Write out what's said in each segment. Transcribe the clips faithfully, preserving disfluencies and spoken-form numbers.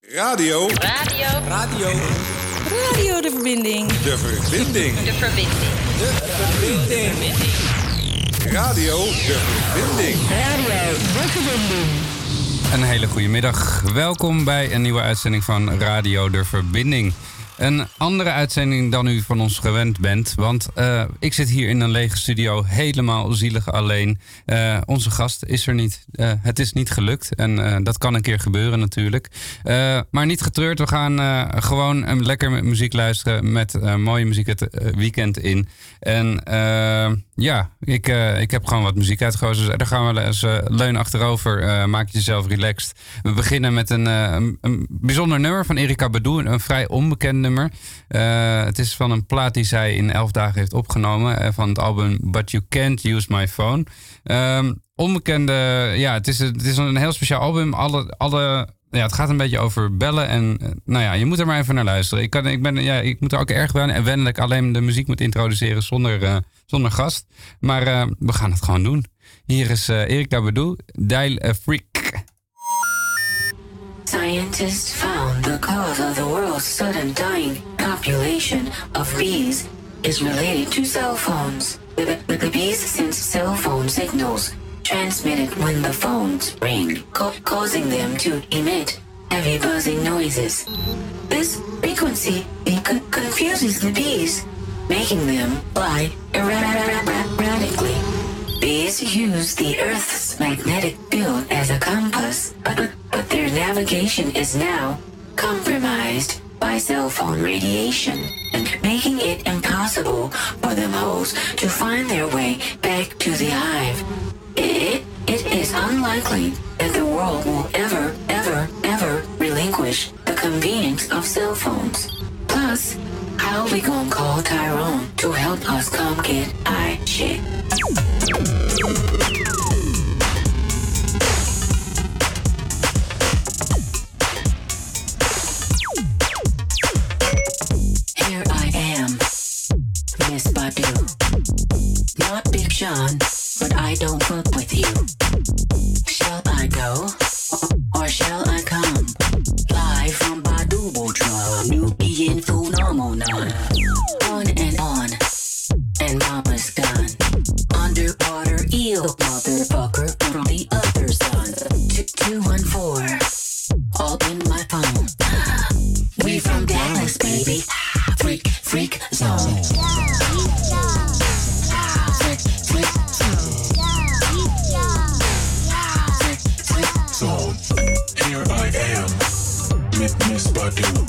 Radio. Radio. Radio. Radio de verbinding. De verbinding. De verbinding. De verbinding. Radio de verbinding. Radio de verbinding. Een hele goede middag. Welkom bij een nieuwe uitzending van Radio de Verbinding. Een andere uitzending dan u van ons gewend bent. Want uh, ik zit hier in een lege studio helemaal zielig alleen. Uh, onze gast is er niet. Uh, het is niet gelukt. En uh, dat kan een keer gebeuren natuurlijk. Uh, maar niet getreurd. We gaan uh, gewoon um, lekker met muziek luisteren. Met uh, mooie muziek het uh, weekend in. En uh, ja, ik, uh, ik heb gewoon wat muziek uitgekozen. Dus daar gaan we eens uh, leun achterover. Uh, maak jezelf relaxed. We beginnen met een, uh, een, een bijzonder nummer van Erykah Badu. Een, een vrij onbekend nummer. Uh, het is van een plaat die zij in elf dagen heeft opgenomen. Uh, van het album But You Can't Use My Phone. Um, onbekende, ja, het is, het is een heel speciaal album. Alle, alle, ja, het gaat een beetje over bellen. En uh, nou ja, je moet er maar even naar luisteren. Ik, kan, ik, ben, ja, ik moet er ook erg wennen. En wennen dat ik alleen de muziek moet introduceren zonder, uh, zonder gast. Maar uh, we gaan het gewoon doen. Hier is uh, Erykah Badu, Dial a Freak. Scientists found the cause of the world's sudden dying population of bees is related to cell phones. The, the, the bees sense cell phone signals transmitted when the phones ring, co- causing them to emit heavy buzzing noises. This frequency co- confuses the bees, making them fly erratically. Bees use the Earth's magnetic field as a compass, but, but their navigation is now compromised by cell phone radiation, and making it impossible for the moles to find their way back to the hive. It, it is unlikely that the world will ever, ever, ever relinquish the convenience of cell phones. Plus, how we gonna call Tyrone to help us come get high shit? Here I am, Miss Badu. Not Big Sean, but I don't fuck with you. Shall I go, or shall I come? Live from Badu Botron, Nubian phenomenon. On and on, and mama's gone. Underwater eel, motherfucker, from the other sun. two one four, all in my phone. We from Dallas, baby. Freak, freak zone. Freak, freak zone. Here I am, Miss Miss Badu.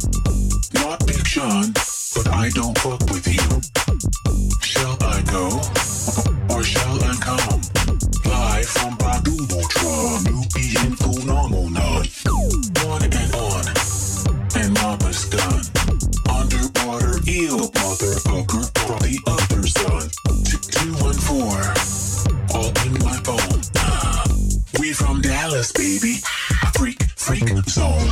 Not Big Sean, but I don't fuck with you. Shall I go, or shall I come? Live from Badu Botron, Nubian phenomenon. On and on, and mama's done. Underwater eel, motherfucker, from the other sun. two one four, all in my phone. We from Dallas, baby. Freak, freak zone.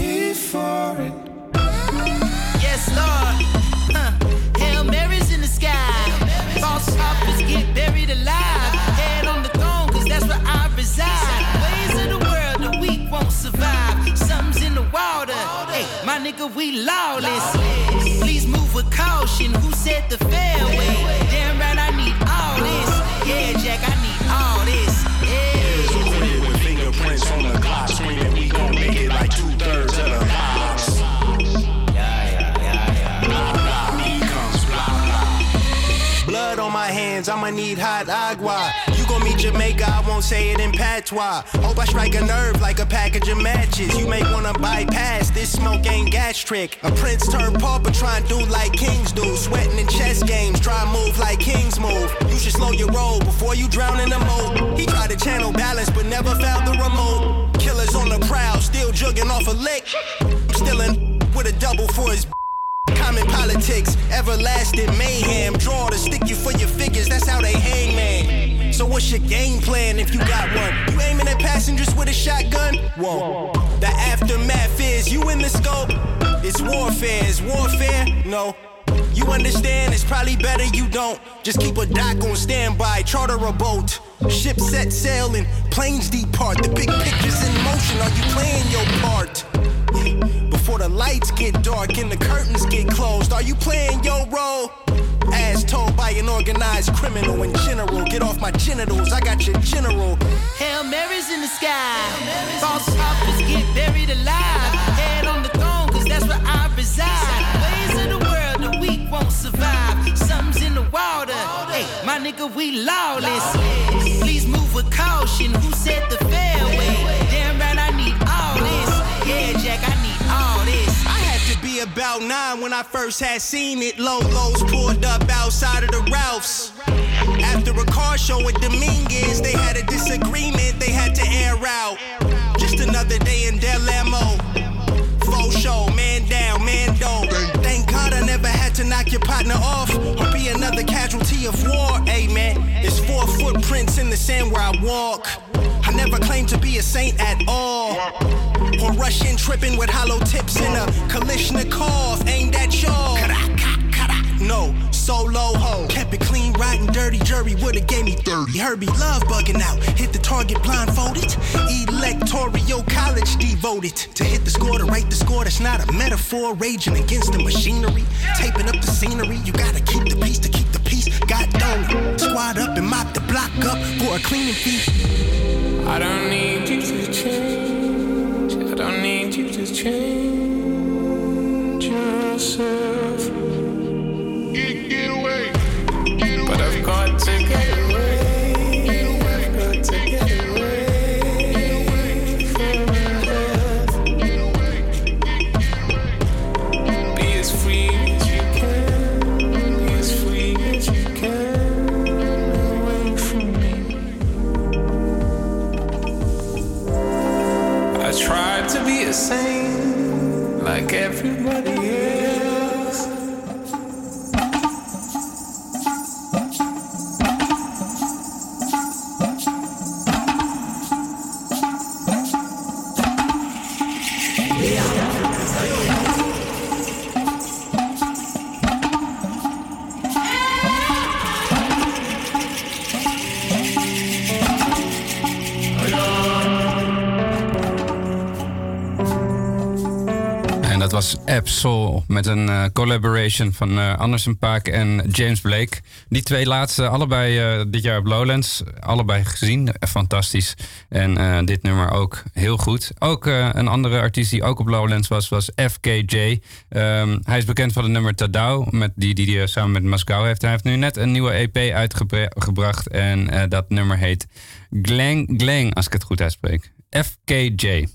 Yes, Lord. Huh. Hail Mary's in the sky. nigga, we lawless. Please move with caution. Who said the fairway? Damn right, I need all this. Yeah, Jack, I need all this. Yeah. With fingerprints on the clock, screaming we gon' make it like two thirds of the box. Yeah, yeah, yeah, yeah. Blah blah, becomes blah blah. Blood on my hands, I'ma need hot agua. You gon' meet Jamaica, I won't say it in patois. Hope I strike a nerve like a package of matches. You may wanna bypass, this smoke ain't gastric. A prince turned pauper, try and do like kings do. Sweating in chess games, try and move like kings move. You should slow your roll before you drown in the moat. He tried to channel balance, but never found the remote. Killers on the prowl, still jugging off a lick. I'm still in with a double for his common politics, everlasting mayhem. Draw to stick you for your figures, that's how they hang, man. So what's your game plan if you got one? You aiming at passengers with a shotgun? Whoa. The aftermath is you in the scope. It's warfare, is warfare? No. You understand, it's probably better you don't. Just keep a dock on standby, charter a boat. Ship set sailing, planes depart. The big picture's in motion, are you playing your part? Before the lights get dark and the curtains get closed, are you playing your role? As told by an organized criminal in general. Get off my genitals, I got your general. Hail Mary's in the sky. False prophets get buried alive. Head on the throne, cause that's where I reside. Ways of the world, the weak won't survive. Something's in the water. Hey, my nigga, we lawless. Please move with caution. Who said the fairway? Damn right, I need all this. Yeah, Jack, I need all this. I had to be about nine when I first had seen it. Lolos pulled up outside of the Ralphs. After a car show at Dominguez, they had a disagreement they had to air out. Just another day in Del Amo. Faux show, man down, man down. Thank God I never had to knock your partner off or be another casualty of war. Amen. It's four footprints in the sand where I walk. I never claimed to be a saint at all. Or rush in tripping with hollow tips in a Kalishnikov aimed at y'all. No, solo ho. Kept it clean, riding dirty. Jury would've gave me thirty. Herbie love bugging out. Hit the target blindfolded. Electoral college devoted. To hit the score, to write the score. That's not a metaphor. Raging against the machinery. Taping up the scenery. You gotta keep the peace to keep the peace. God damn it. Squad up and mop the block up for a cleaning fee. I don't need you to change. I don't need you to change yourself. Get, get away. Get away. But I've got to get away. Get away. I've got to get away. Get away. From my life. Get away. Be as free as you can. Be as free as you can. Away from me. I tried to be a saint like everybody else. was Absol met een uh, collaboration van uh, Anderson .Paak en James Blake. Die twee laatste, allebei uh, dit jaar op Lowlands. Allebei gezien, uh, fantastisch. En uh, dit nummer ook heel goed. Ook uh, een andere artiest die ook op Lowlands was, was F K J. Um, hij is bekend van het nummer Tadao, met die, die hij samen met Moskou heeft. Hij heeft nu net een nieuwe E P uitgebracht en uh, dat nummer heet Glang Glang, als ik het goed uitspreek. F K J.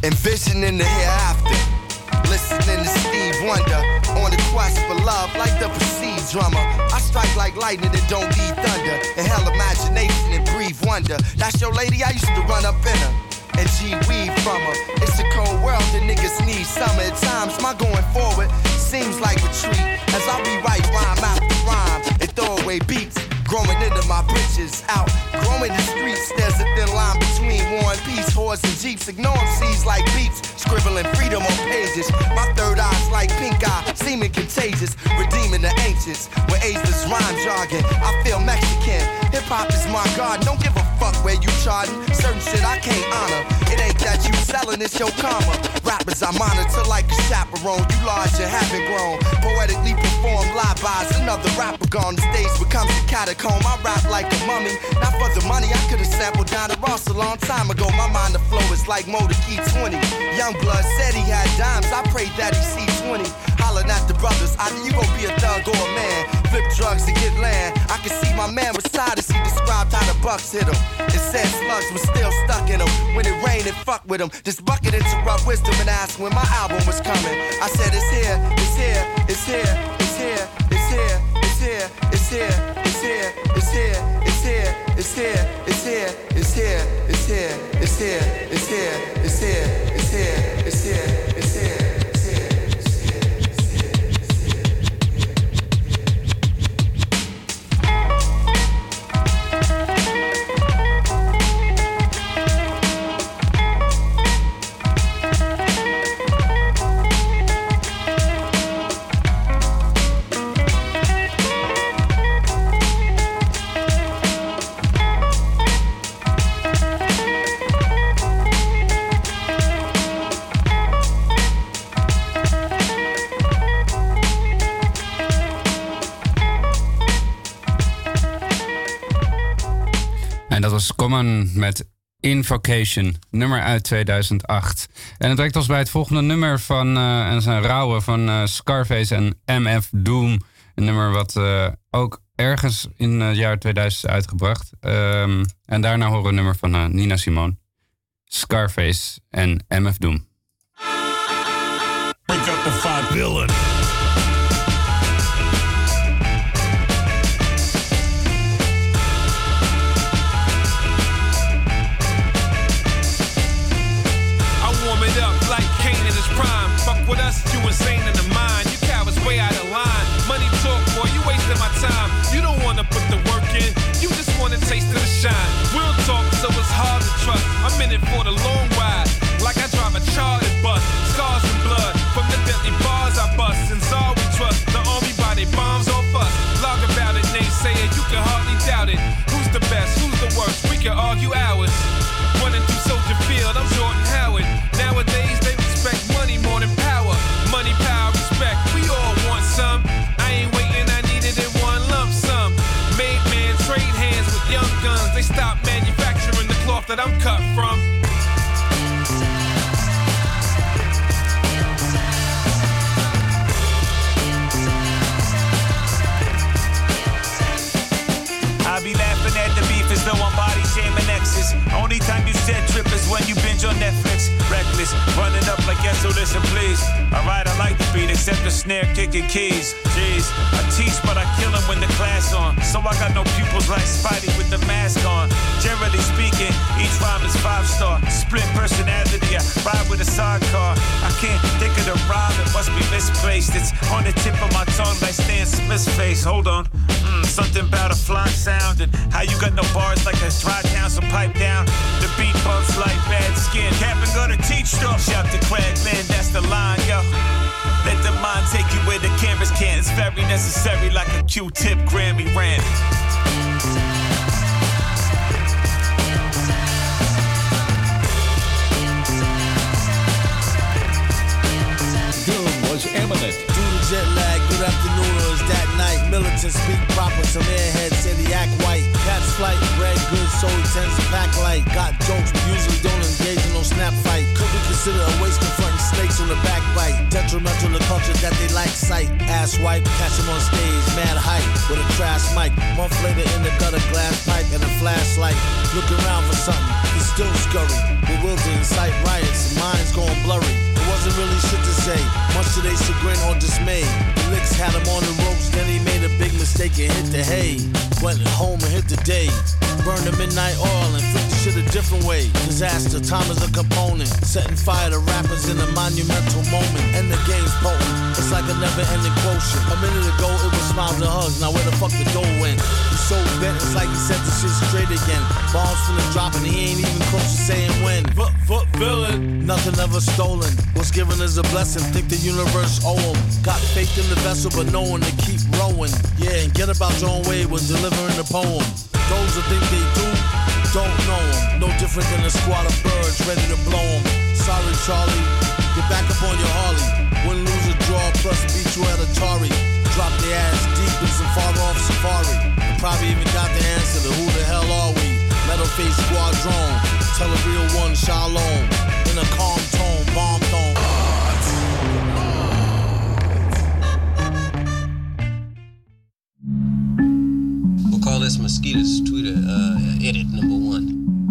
envisioning the hereafter. Listening to Steve Wonder on the quest for love like the perceived drummer. I strike like lightning and don't need thunder. Inhale imagination and breathe wonder. That's your lady, I used to run up in her and G-weed from her. It's a cold world, the niggas need summer. At times, my going forward seems like retreat as I rewrite rhyme after rhyme and throw away beats. Growing into my britches, out, growing the streets. There's a thin line between war and peace, whores and jeeps. Ignore C's like beats, scribbling freedom on pages. My third eye's like pink eye, seeming contagious. Redeeming the ancients with ageless rhyme jargon. I feel Mexican, hip-hop is my garden. Don't give a fuck where you charting. Certain shit I can't honor. It ain't that you selling, it's your karma. Rappers I monitor like a chaperone. You large and haven't grown. Poetically perform live-bys. Another rapper gone, the stage becomes a catacomb. I rap like a mummy, not for the money. I could've sampled Donna Ross a long time ago. My mind the flow is like Motor Key twenty. Youngblood said he had dimes, I prayed that he see twenty. Hollering at the brothers, either you gon' be a thug or a man. Flip drugs to get land. I can see my man beside us, he described how the bucks hit him. It said slugs was still stuck in him. When it rained, it fucked with him. This bucket interrupt wisdom and asked when my album was coming. I said it's here, it's here, it's here, it's here, it's here, it's here, it's here, it's here, it's here, it's here, it's here, it's here, it's here, it's here, it's here, it's here, it's here, it's here, it's here, it's here. En dat was Common met Invocation, nummer uit tweeduizend acht. En het brengt ons bij het volgende nummer van, uh, en dat is een rauwe van uh, Scarface en M F Doom. Een nummer wat uh, ook ergens in het jaar tweeduizend is uitgebracht. Um, en daarna horen we een nummer van uh, Nina Simone. Scarface en M F Doom. Break up the five villain. Prime. Fuck with us, you insane in the mind. You cowards way out of line. Money talk, boy, you wasting my time. You don't wanna put the work in, you just want a taste of the shine. Real talk, so it's hard to trust. I'm in it for the long ride, like I drive a chartered bus. Scars and blood from the deadly bars I bust. And all we trust, the army body bombs off us. Log about it, naysayer, you can hardly doubt it. Who's the best, who's the worst? We can argue hours. Running through Soldier Field, I'm Jordan Howard. Nowadays they respect money more than power. Money, power, respect, we all want some. I ain't waiting, I need it in one lump sum. Made man, trade hands with young guns. They stopped manufacturing the cloth that I'm cut from. I be laughing at the beef as though I'm body shaming exes. Only time you said trip is when you binge on Netflix. Reckless, running up like yes, so listen please. Alright, I like the beat, except the snare kicking keys. Jeez, I teach but I kill them when the class on. So I got no pupils like Spidey with the mask on. Generally speaking, each rhyme is five star. Split personality, I ride with a sidecar. I can't think of the rhyme, it must be misplaced. It's on the tip of my tongue like Stan Smith's face. Hold on, mm, something about a fly sound and how you got no bars like a dry town, so pipe down. The beat bumps like bad skin. Cap and go to teach stuff. Shout to Cragland, that's the line, yo. Let the mind take you where the cameras can't. It's very necessary like a Q-tip Grammy rant. Doom was imminent. Due to jet lag, good afternoon, or is that night? Militants speak proper, some airheads say they act white. Cat's flight, bread good, so he tends to pack light. Got jokes, but usually don't engage in no snap fight. Could be considered a waste confronting snakes on the backbite. Detrimental to culture that they like sight. Ass wipe, catch him on stage, mad hype, with a trash mic. Month later in the gutter, glass pipe and a flashlight. Look around for something, he's still scurry. bewildered, incite riots, minds going blurry. It wasn't really shit to say, much to their chagrin or dismay. The licks had him on the ropes, then he made a big mistake and hit the hay. Went home and hit the day. Burned the midnight oil and flipped the shit a different way. Disaster, time is a component. Setting fire to rappers in a monumental moment. And the game's potent, it's like a never-ending quotient. A minute ago it was smiles and hugs, now where the fuck the dough went? He's so bent, it's like he set the shit straight again. Bombs from the drop and he ain't even close to saying when. Foot, foot, villain. Nothing ever stolen. What's given is a blessing, think the universe owe him. Got faith in the vessel but no one to keep rowing. Yeah, and get about your own way when delivering the poem. Those who think they do, don't know them. No different than a squad of birds ready to blow them. Sorry, Charlie, get back up on your Harley. Win, lose, or draw, plus beat you at Atari. Drop the ass deep in some far-off safari. And probably even got the answer to who the hell are we? Metal face squadron, tell a real one shalom. In a calm tone, bomb tone. We'll call this Mosquito's Twitter uh, edit number one.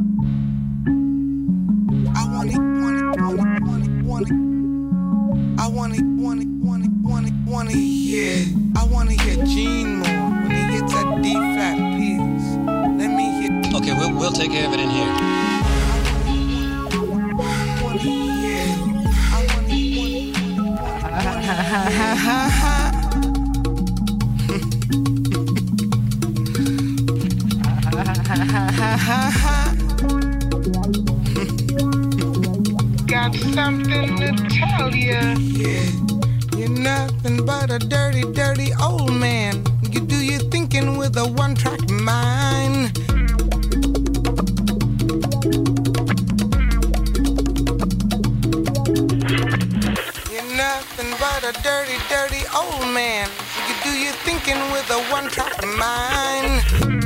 I want it, want it, want it, want it, want it. I want it, want it, want it, want it, want it, yeah. I want to hear Gene more when he hits that D flat piece. Let me hear. Okay, we'll we'll take care of it in here. I want it, yeah. I want it, want it, want it, want it. Ha ha ha ha ha. Ha ha ha ha. Got something to tell you. Yeah, you're nothing but a dirty, dirty old man. You do your thinking with a one-track mind. You're nothing but a dirty, dirty old man. You do your thinking with a one-track mind.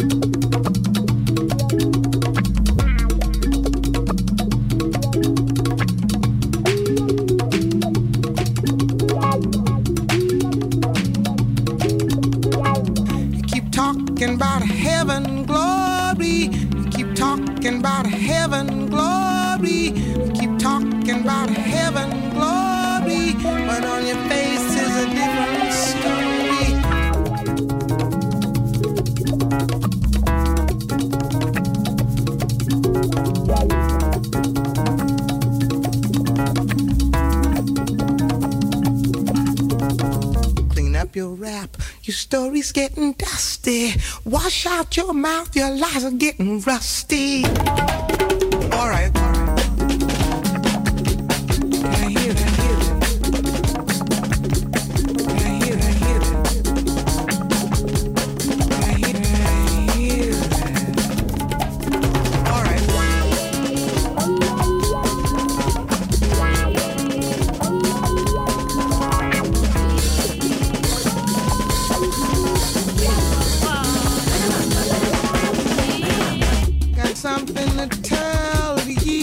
Talking about heaven glory. You keep talking about heaven glory. You keep talking about heaven glory. But on your face is a different story. Clean up your rap. Your story's getting dusty. Wash out your mouth, your lies are getting rusty. All right, all right. I hear it, I hear it. I hear it, I hear it. I hear it, I hear it. All right. Got something to tell you.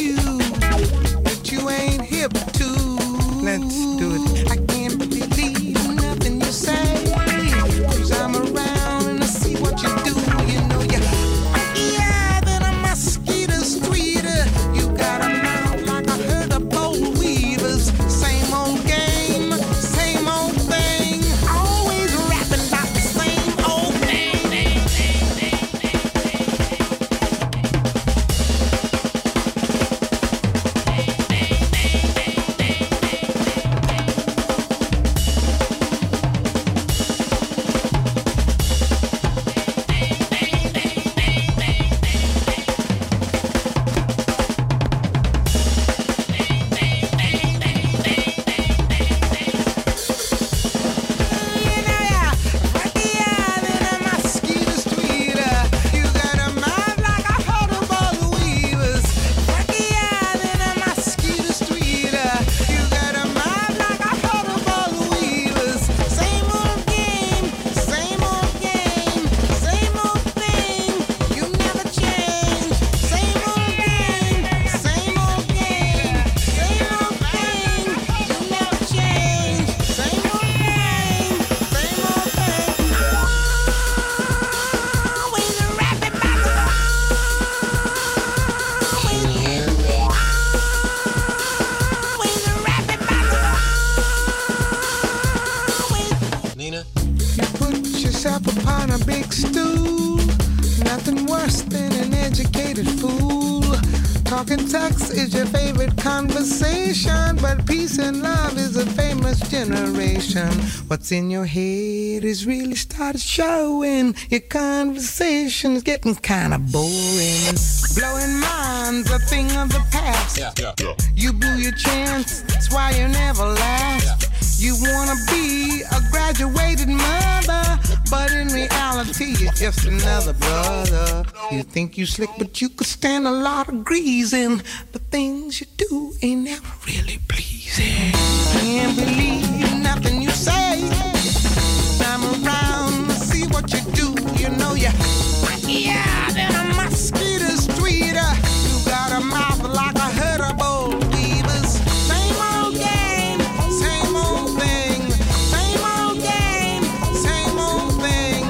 stupid fool. Talking text is your favorite conversation, but peace and love is a famous generation. What's in your head is really started showing. Your conversation is getting kind of boring. Blowing minds, a thing of the past. Yeah, yeah, yeah. You blew your chance, that's why you never last. Yeah. You wanna be a graduated mother, but in reality you're just another brother. You think you slick, but you could stand a lot of greasing. The things you do ain't never really pleasing. Can't believe nothing you say. I'm around to see what you do. You know you, yeah, then a mosquito's tweeter. You got a mouth like a herd of bold beavers. Same old game, same old thing. Same old game, same old thing.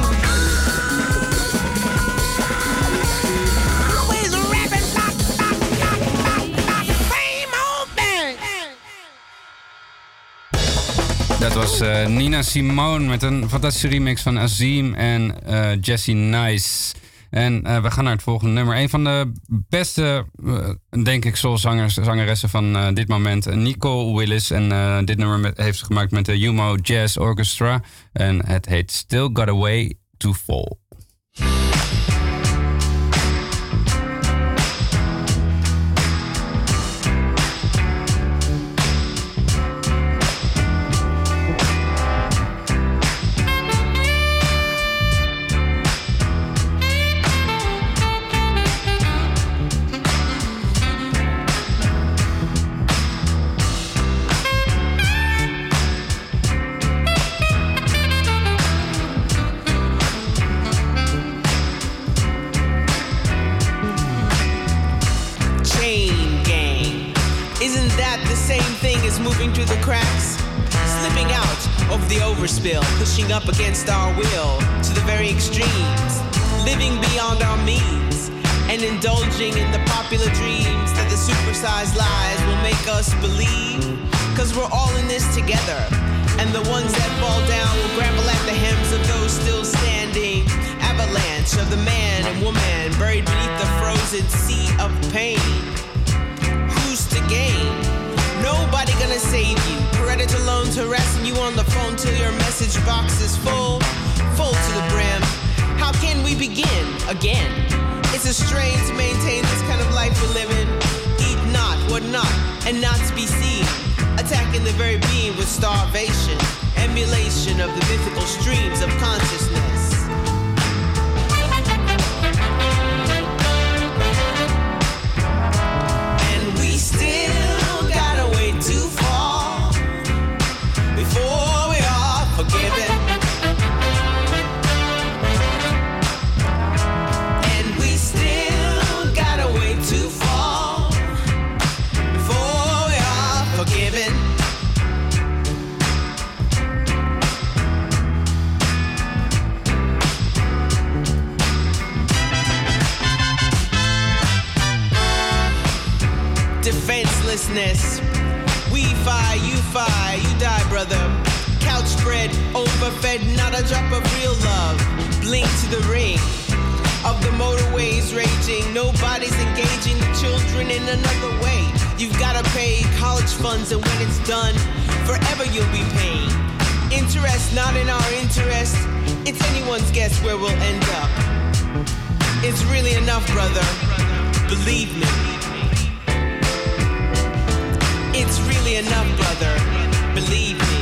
Always rapping, bop, bop, bop, bop, bop. Same old thing. Dat was uh, Nina Simone met een fantastische remix van Azim en uh, Jessie Nice. En uh, we gaan naar het volgende nummer. Een van de beste, uh, denk ik, soulzangers, zangeressen van uh, dit moment. Nicole Willis. En uh, dit nummer met, heeft ze gemaakt met de Humo Jazz Orchestra. En het heet Still Got a Way to Fall. Moving through the cracks, slipping out of the overspill, pushing up against our will to the very extremes, living beyond our means, and indulging in the popular dreams that the supersized lies will make us believe. Cause we're all in this together, and the ones that fall down will grapple at the hems of those still standing. Avalanche of the man and woman buried beneath the frozen sea of pain. Who's to gain? Nobody gonna save you. Predator loans harassing you on the phone till your message box is full, full to the brim. How can we begin again? It's a strain to maintain this kind of life we're living. Eat not, what not, and not to be seen. Attacking the very being with starvation. Emulation of the mythical streams of consciousness. And we still to fall before we are forgiven, and we still got a way to fall before we are forgiven. Defenselessness. We fi, you fi, you die, brother. Couch spread, overfed, not a drop of real love. Blink to the ring of the motorways raging. Nobody's engaging the children in another way. You've gotta pay college funds, and when it's done, forever you'll be paying. Interest not in our interest. It's anyone's guess where we'll end up. It's really enough, brother. Believe me. It's really enough, brother. Believe me.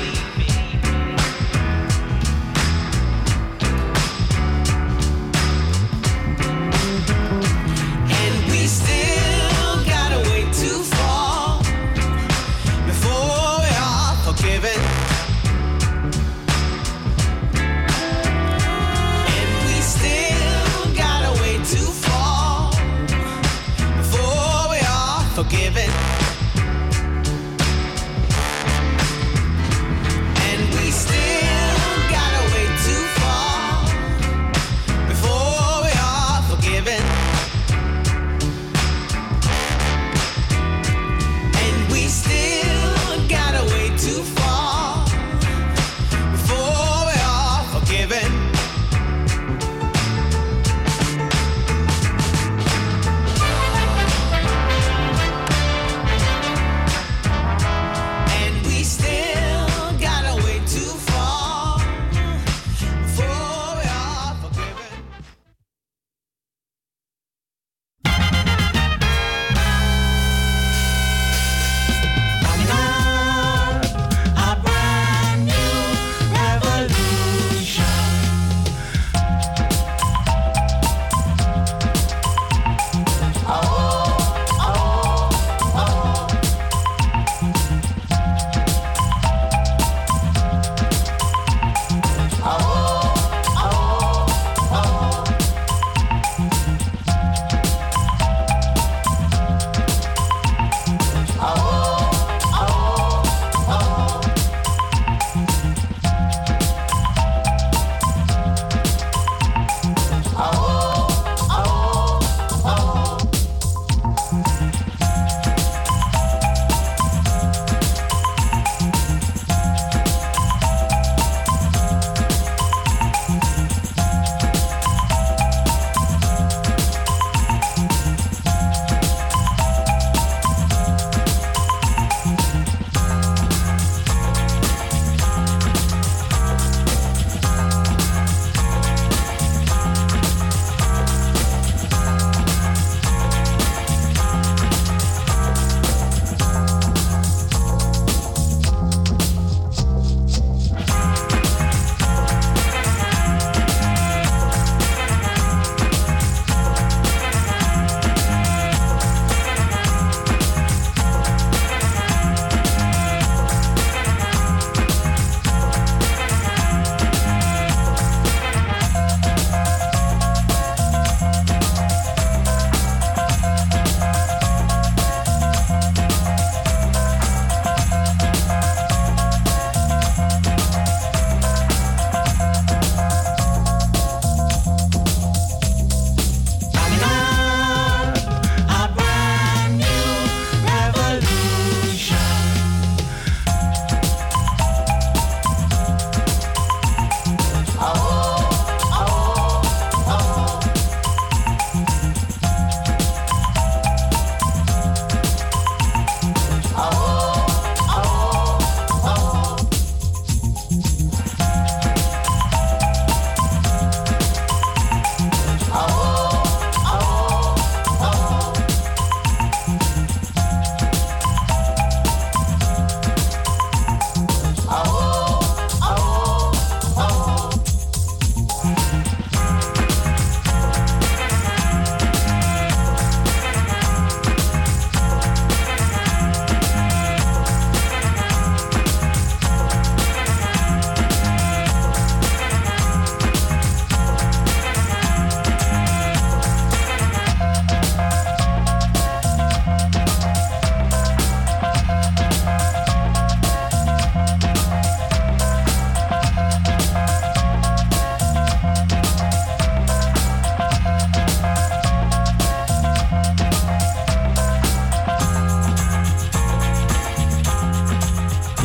And we still got a way to fall before we are forgiven. And we still got a way to fall before we are forgiven.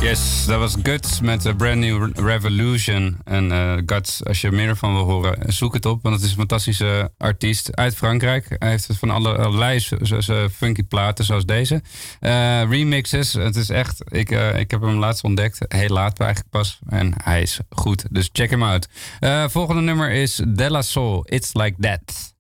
Yes, dat was Guts met A Brand New Revolution. En uh, Guts, als je meer ervan wil horen, zoek het op. Want het is een fantastische artiest uit Frankrijk. Hij heeft van allerlei funky platen zoals deze. Uh, remixes, het is echt... Ik, uh, ik heb hem laatst ontdekt. Heel laat eigenlijk pas. En hij is goed, dus check hem uit. Uh, volgende nummer is De La Soul, It's Like That.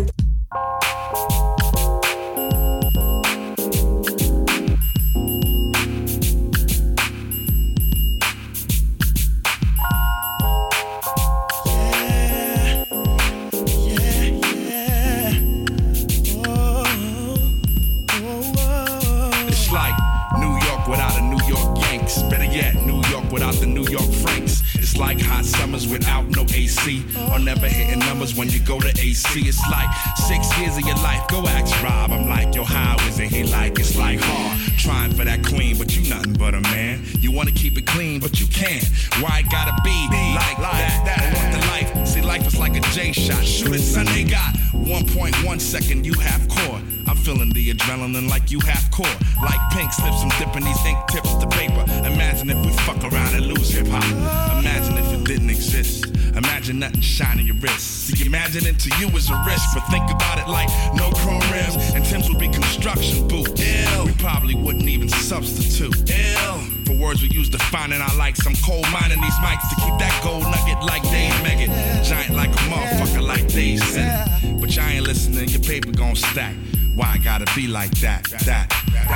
Better yet, New York without the New York Franks. It's like hot summers without no A C. Or never hitting numbers when you go to A C. It's like six years of your life. Go ask Rob. I'm like, yo, how is it? He like, it's like hard. Trying for that queen, but you nothing but a man. You wanna keep it clean, but you can't. Why it gotta be like that? that? I want the life. See, life is like a J shot. Shoot it, son, they got one point one second, you half core. I'm feeling the adrenaline like you half core. Like pink slips, I'm dipping these ink tips to paper. Imagine if we fuck around and lose hip hop. Imagine if it didn't exist. Imagine nothing shining your wrist. See, imagine it to you is a risk, but think about it like no chrome rims and Tim's would be construction boots. Ew. We probably wouldn't even substitute. Ew. For words we use defining our likes, I'm cold mining these mics to keep that gold nugget like Dave Megan. Giant like a motherfucker like Dave said. But y'all ain't listening, your paper gon' stack. Why I gotta be like that? That.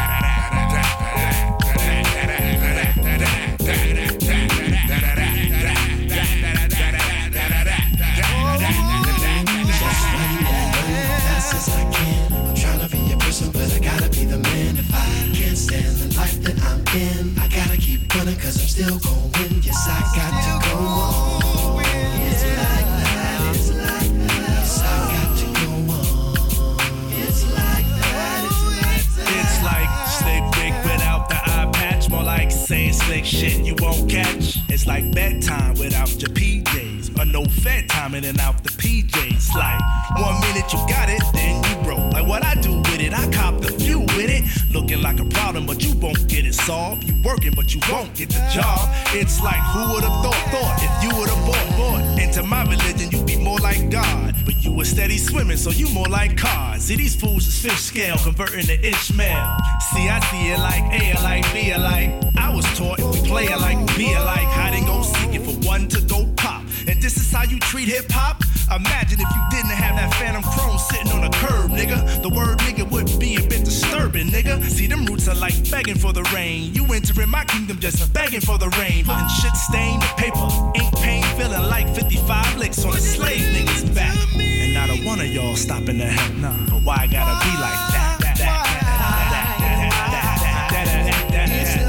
As I can, I'm trying to be a person, but I gotta be the man. If I can't stand the life that I'm in, I gotta keep running, cause I'm still going. Yes, I got to go on. It's like that, it's like that. Yes, I got to go on. It's like that, it's like that. It's like slick Rick without the eye patch. More like saying slick shit you won't catch. It's like bedtime without your P Js. Or no fed time in and out the P Js. Like one minute you got it, then you broke. Like what I do with it, I cop the few with it. Looking like a problem, but you won't get it solved. You working, but you won't get the job. It's like who would've thought, thought if you would've bought, bought into my religion, you'd be more like God. But you were steady swimming, so you more like cars. See, these fools is fish scale, converting to Ishmael. See, I see it like A alike, B alike. I was taught if we play alike, be alike. Hide and go seek it for one to go pop. And this is how you treat hip hop? Imagine if you didn't have that phantom chrome sitting on a curb, nigga. The word nigga would be a bit disturbing, nigga. See, them roots are like begging for the rain. You entering my kingdom just begging for the rain. And shit stained the paper, ink pain feeling like fifty-five licks on a slave nigga's back. And not a one of y'all stopping to help, nah. But why I gotta be like that? that, that, that, that, that, that, that, that, that,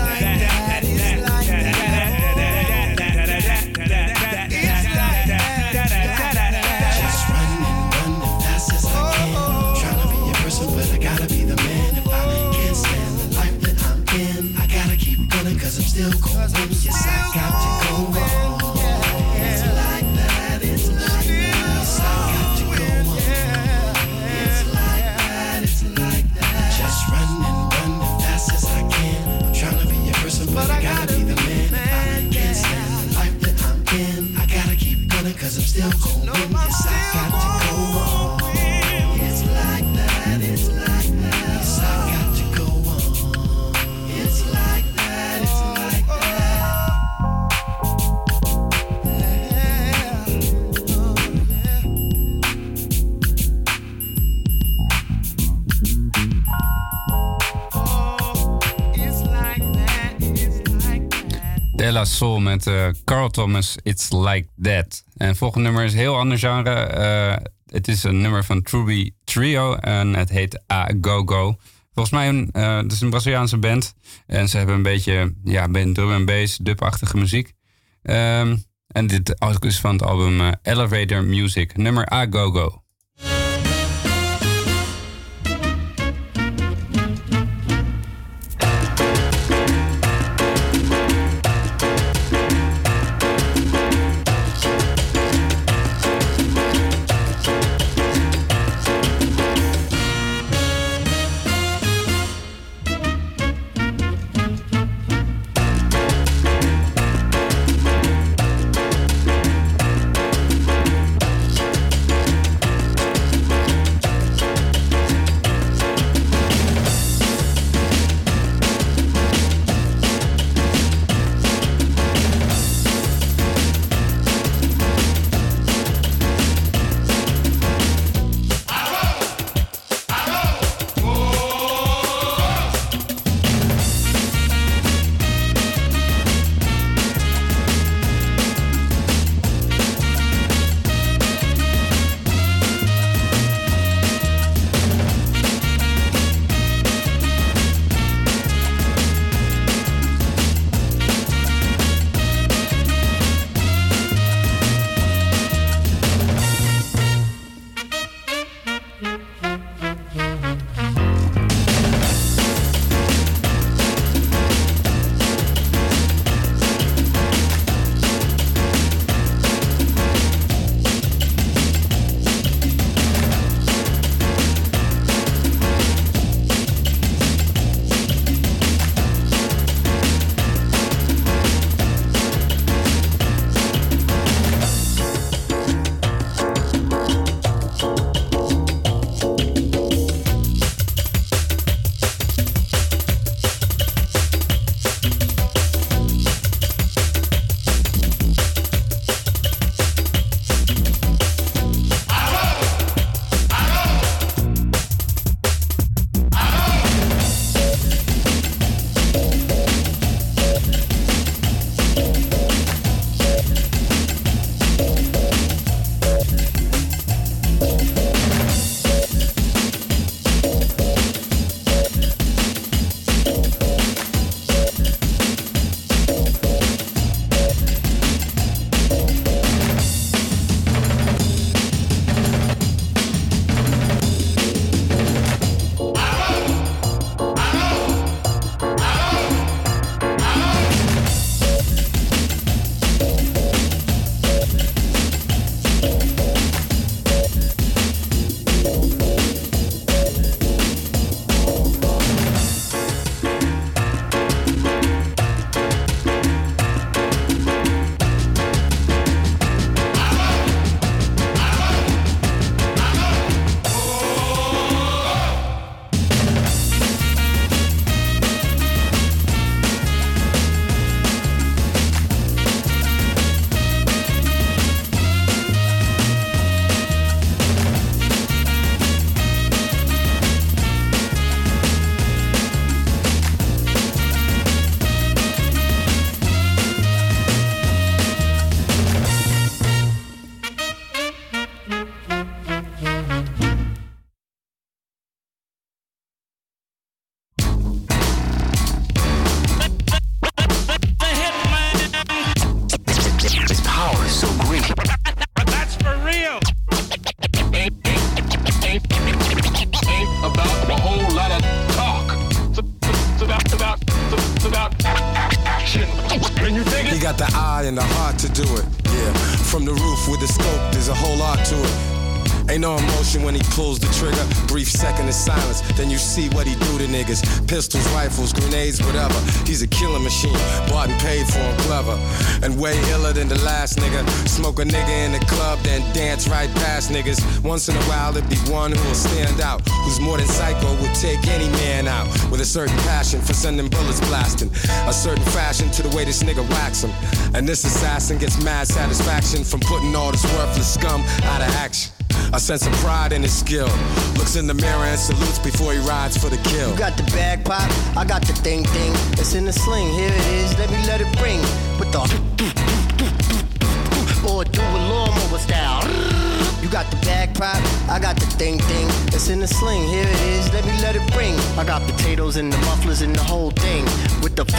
cause I'm still going. Yes, I got to go on. It's like that, it's like that. Yes, I got to go on. It's like that, it's like that. Just running, running fast as I can. I'm trying to be a person, but I gotta be the man. If I can't stand the life that I'm in, I gotta keep going cause I'm still going. Yes, I got to go on. It's like that, it's like that. Yes, I got to go on. It's like that, it's like that. De La Soul met uh, Carl Thomas, It's Like That. En het volgende nummer is een heel ander genre. Uh, het is een nummer van Truby Trio en het heet A Go Go. Volgens mij een, uh, het is een Braziliaanse band. En ze hebben een beetje ja, drum en bass, dub-achtige muziek. Um, en dit is van het album uh, Elevator Music, nummer A Go Go. got the eye and the heart to do it. Yeah, from the roof with the scope, there's a whole lot to it. Ain't no emotion when he pulls the trigger. Brief second of silence, then you see what he do to niggas. Pistols, rifles, grenades, whatever. He's a killing machine, bought and paid for and clever. And way iller than the last nigga. Smoke a nigga in the club, then dance right past niggas. Once in a while there'd be one who will stand out, who's more than psycho, would take any man out. With a certain passion for sending bullets blasting. A certain fashion to the way this nigga whacks him. And this assassin gets mad satisfaction from putting all this worthless scum out of action. A sense of pride in his skill. Looks in the mirror and salutes before he rides for the kill. You got the bag pop, I got the thing thing. It's in the sling, here it is, let me let it ring. With the or do a lawnmower style. You got the bag pop, I got the thing thing. It's in the sling, here it is, let me let it ring. I got potatoes and the mufflers and the whole thing. With the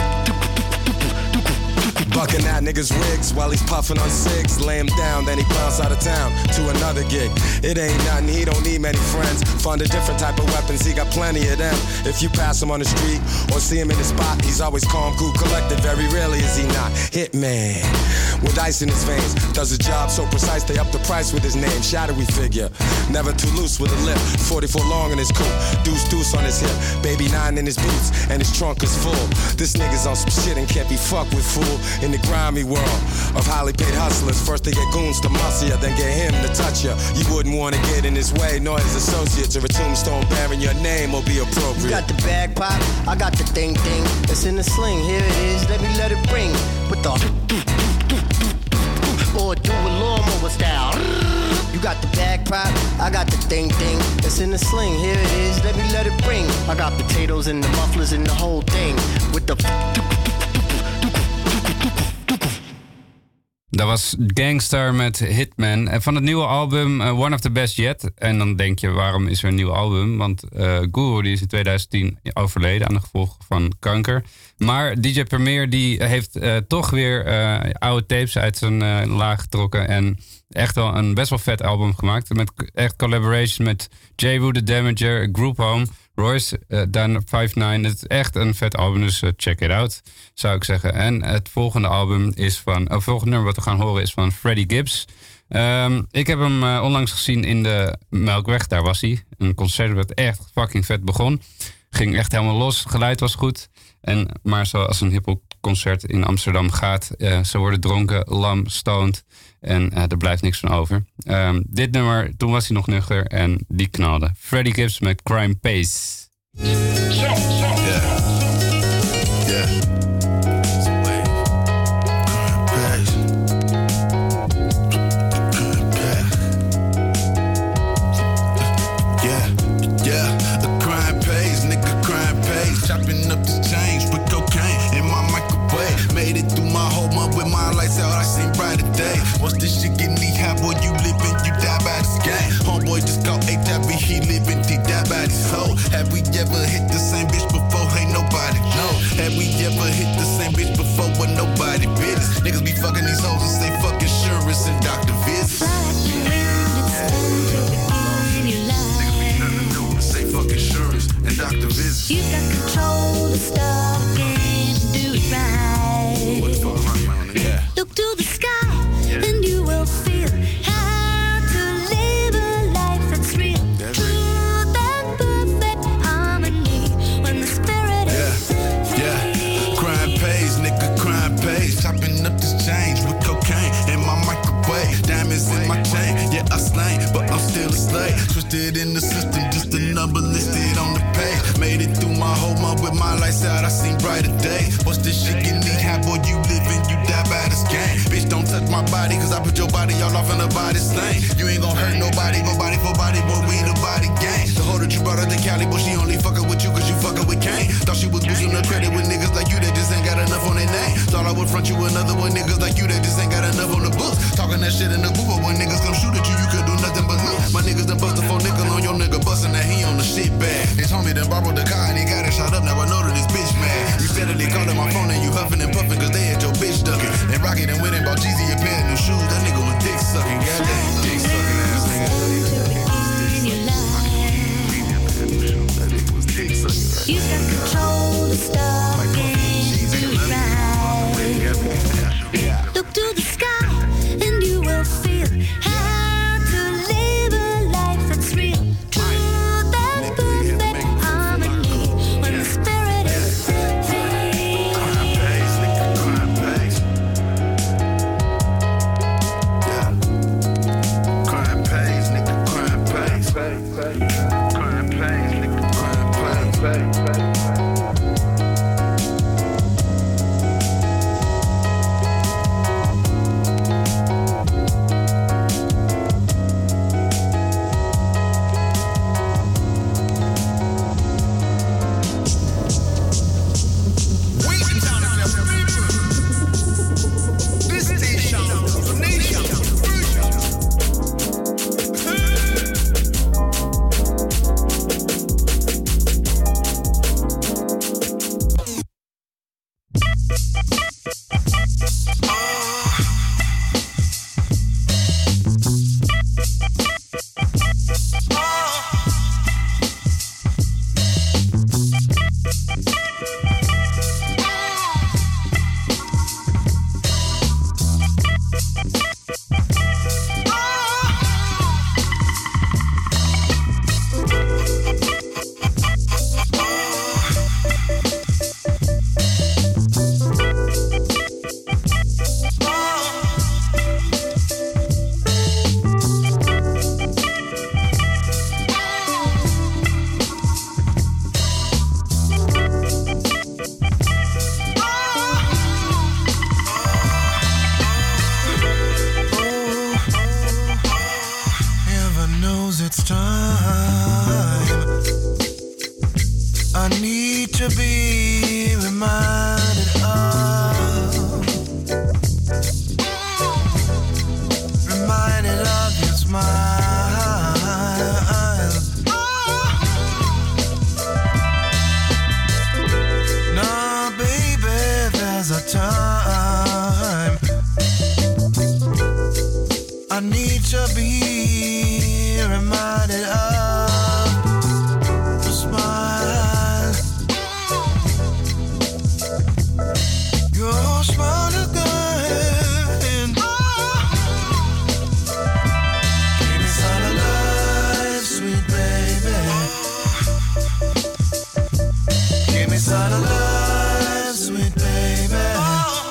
bucking at niggas' wigs while he's puffing on cigs. Lay him down, then he bounce out of town to another gig. It ain't nothing, he don't need many friends. Find a different type of weapons, he got plenty of them. If you pass him on the street or see him in the spot, he's always calm, cool, collected. Very rarely is he not Hitman. With ice in his veins, does a job so precise they up the price with his name. Shadowy figure, never too loose with a lip. forty-four long in his coupe, deuce deuce on his hip. Baby nine in his boots, and his trunk is full. This nigga's on some shit and can't be fucked with, fool. In the grimy world of highly paid hustlers, first they get goons to muscle ya, then get him to touch ya. You wouldn't want to get in his way, nor his associates, or a tombstone bearing your name will be appropriate. You got the bag pop, I got the thing thing. It's in the sling, here it is, let me let it ring. With the or do a lawnmower style. You got the bag pop, I got the thing thing. It's in the sling, here it is, let me let it ring. I got potatoes and the mufflers and the whole thing. With the Dat was Gangster met Hitman. En van het nieuwe album uh, One of the Best Yet. En dan denk je, waarom is er een nieuw album? Want uh, Guru die is in twintig tien overleden aan de gevolgen van kanker. Maar D J Premier die heeft uh, toch weer uh, oude tapes uit zijn uh, laag getrokken. En echt wel een best wel vet album gemaakt. Met echt collaboration met J. Woo, The Damager, Group Home, Royce, uh, Dan vijf negen. Het is echt een vet album, dus uh, check it out, zou ik zeggen. En het volgende album is van... Het uh, volgende nummer wat we gaan horen is van Freddie Gibbs. Um, ik heb hem uh, onlangs gezien in de Melkweg, daar was hij. Een concert wat echt fucking vet begon. Ging echt helemaal los, het geluid was goed. En, maar zoals een hiphop concert in Amsterdam gaat, uh, ze worden dronken, lam, stoned en uh, er blijft niks van over. Um, dit nummer, toen was hij nog nuchter en die knalde. Freddie Gibbs met Crime Pays. Yeah. Yeah. Chopping up the change, put cocaine in my microwave. Made it through my whole month with my lights out, I seen brighter days. Once this shit get knee high, boy, you living, you die by this game. Homeboy just called H I V, he living, he die by this hoe. Have we ever hit the same bitch before? Ain't nobody know. Have we ever hit the same bitch before? But nobody business. Niggas be fucking these hoes and say fuck insurance and doctor visits. Say fuck insurance and doctor visits. You got control to stop and do it right. What the fuck am I on? Yeah. Look to the sky and you will feel how to live a life that's real. Truth and perfect harmony when the spirit is Yeah, yeah. Crime pays, nigga, crime pays. Chopping up this change with cocaine in my microwave. Diamonds in my chain, yeah, I slain, but I'm still a slave. Twisted in the system, just a number listed on the page. Made it through my whole month with my lights out, I seen brighter days. What's this shit get knee high, boy, you living, you die by this game. Bitch, don't touch my body, cause I put your body all off in the body stain. You ain't gon' hurt nobody, go body for body, boy, we the body gang. The hoe that you brought her to Cali, boy, she only fucking with you cause you fucking with Kane. Thought she was boosting the credit with niggas like you that just ain't got enough on their name. Thought I would front you another one, niggas like you that just ain't got enough on the books. Talking that shit in the booth, but when niggas come shoot at you, you could do nothing but look. My niggas done bust a four nickel on your nigga, bustin' that he on the shit bag. His homie done borrowed the car and he got it shot up, now I know that this bitch mad. You steadily calling my phone and you huffing and puffing cause they had your bitch ducking. And Rocky done went and bought Jeezy a pair of new shoes, that nigga was dick sucking, goddamn dick sucking ass nigga. You got control to stop and do it right. Give me some love, sweet baby.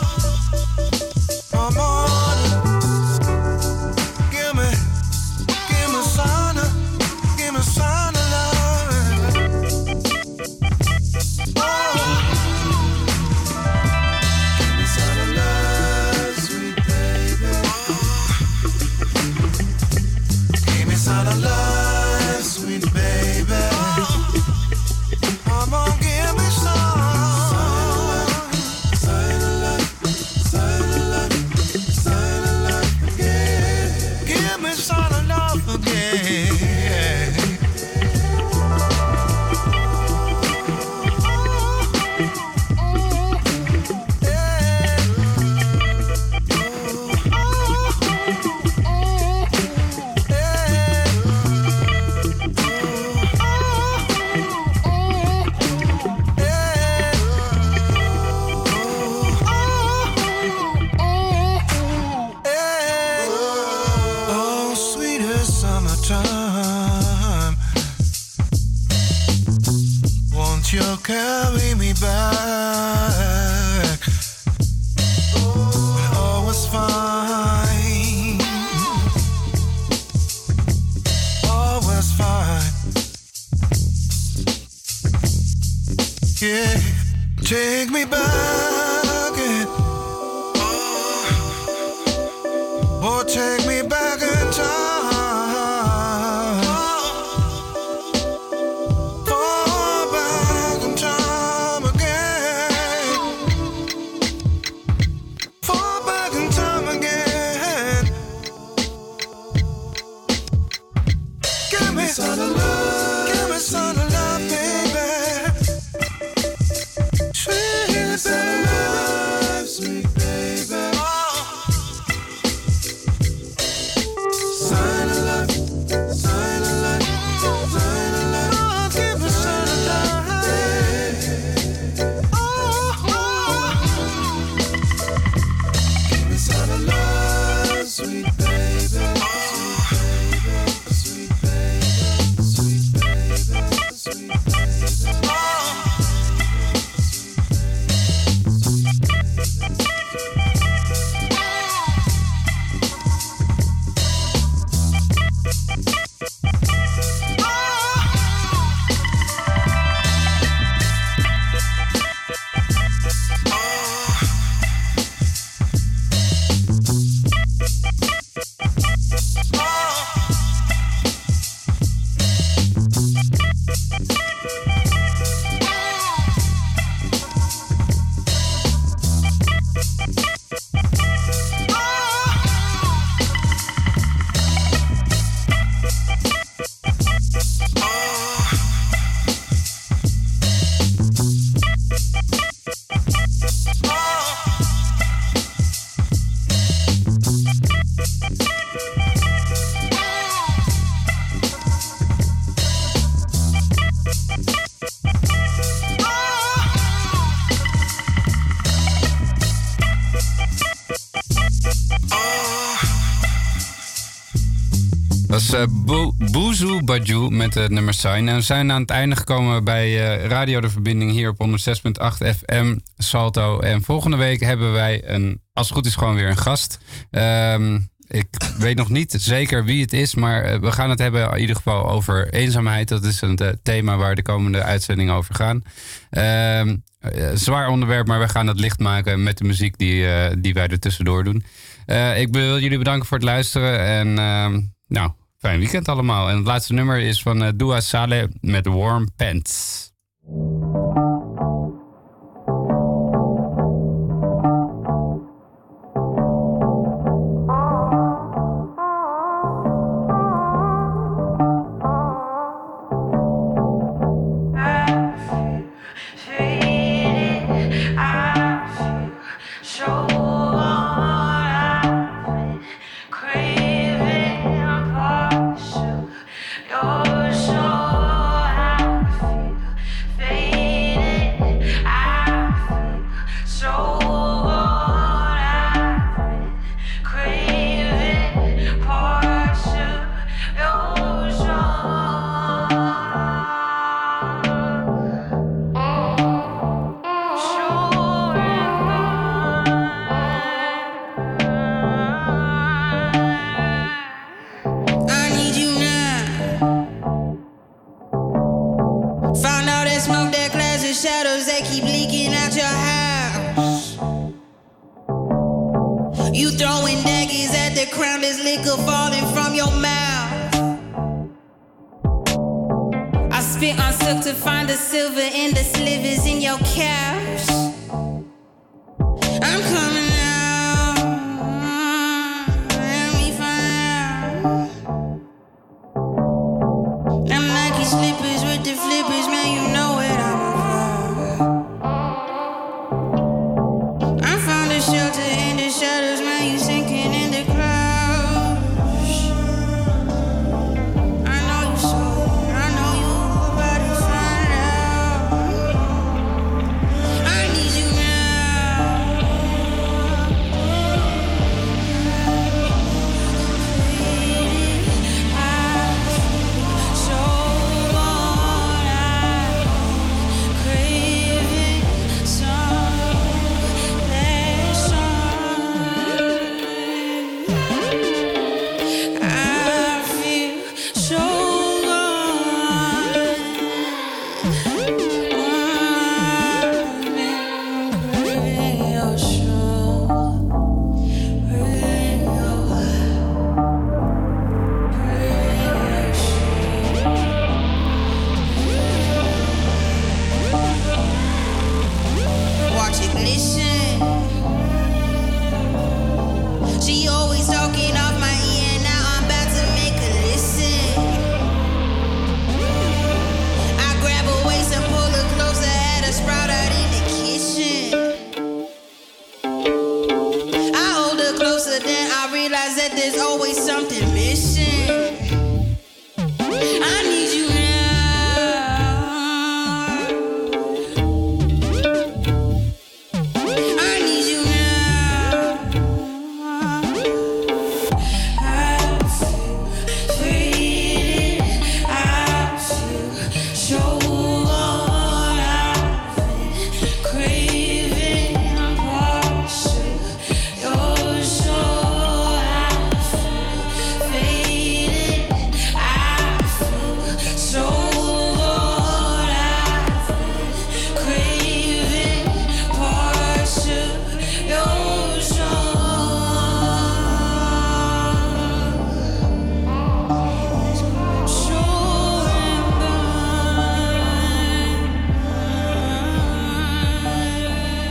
was uh, Bo- Boozoo Bajou met het nummer Sign. En we zijn aan het einde gekomen bij uh, Radio De Verbinding hier op honderd zes komma acht F M Salto. En volgende week hebben wij, een, als het goed is, gewoon weer een gast. Um, ik weet nog niet zeker wie het is, maar uh, we gaan het hebben in ieder geval over eenzaamheid. Dat is een uh, thema waar de komende uitzendingen over gaan. Um, uh, zwaar onderwerp, maar we gaan het licht maken met de muziek die, uh, die wij er tussendoor doen. Uh, ik wil jullie bedanken voor het luisteren en uh, nou, fijn weekend allemaal. En het laatste nummer is van uh, Dua Saleh met Warm Pants.